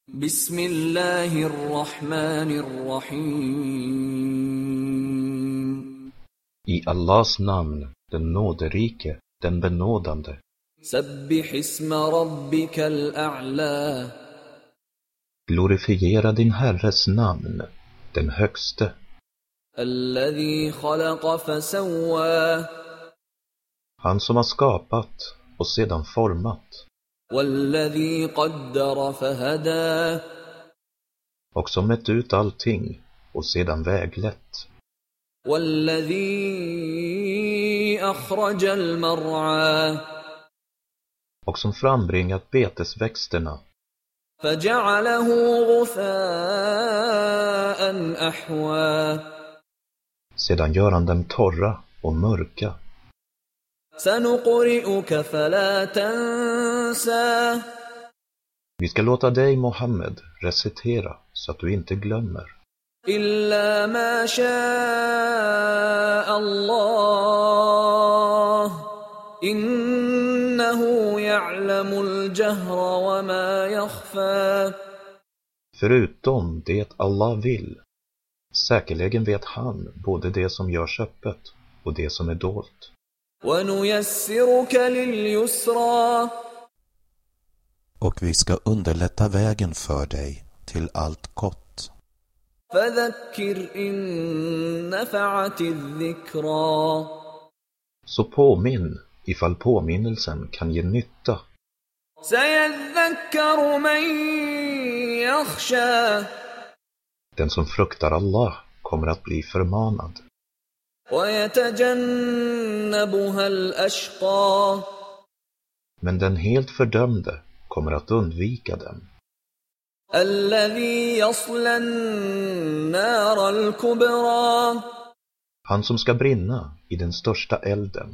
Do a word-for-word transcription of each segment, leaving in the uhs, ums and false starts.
Bismillahirrahmanirrahim. I Allahs namn, den nåderike, den benådande. Sabbih isma rabbikal a'la. Glorifiera din Herres namn, den högste. Alladhi khalaqa fasawwa. Han som har skapat och sedan format. Walladhi qaddara fahada. Och som mätt ut allting och sedan väglett. Walladhi akhraja al-mar'a. Och som frambringat betesväxterna. Faja'alahu ghutha'an ahwa. Sedan gör han dem torra och mörka. Sanuqri'uka fala tansa. Vi ska låta dig, Mohammed, recitera så att du inte glömmer. Illa ma sha'a Allah. Innahu ya'lamul jahra wa ma yakhfa. Förutom det Allah vill. Säkerligen vet han både det som görs öppet och det som är dolt. Wa nuyassiruka lil yusra. Och vi ska underlätta vägen för dig till allt gott. Fadhakkir in nafa'ati dhikra. Så påminn ifall påminnelsen kan ge nytta. Sayadhakkaru man yakhsha. Den som fruktar Allah kommer att bli förmanad. Wa yatajannabuha al-ashqa. Men den helt fördömde kommer att undvika den. Alladhi yasla an-nar al-kubra. Han som ska brinna i den största elden.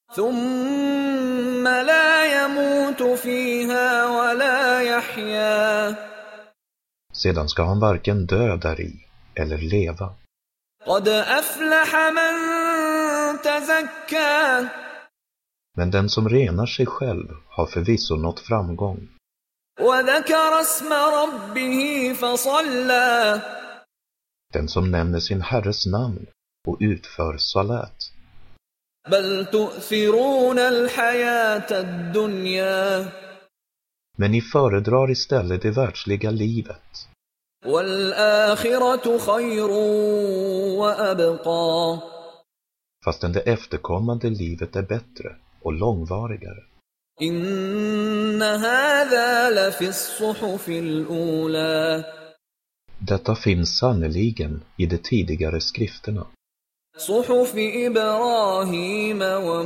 Thumma la yamutu fiha wa la yahya. Sedan ska han varken dö där i eller leva. Qad aflaha man tazakka. Men den som renar sig själv har förvisso nått framgång. Wa dhakara isma rabbih fasalla. Den som nämner sin Herres namn och utför salat. Bal tu'thiruna al-hayata ad-dunya. Men ni föredrar istället det världsliga livet. Wal-akhiratu khayrun wa abqa. Fastän det efterkommande livet är bättre och långvarigare. Inna hadha la fi as-suhufi al-ula. Detta finns sannoliken i de tidigare skrifterna. Suhufi Ibrahim wa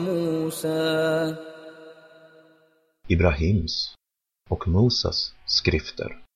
Musa. Ibrahims och Mosas skrifter.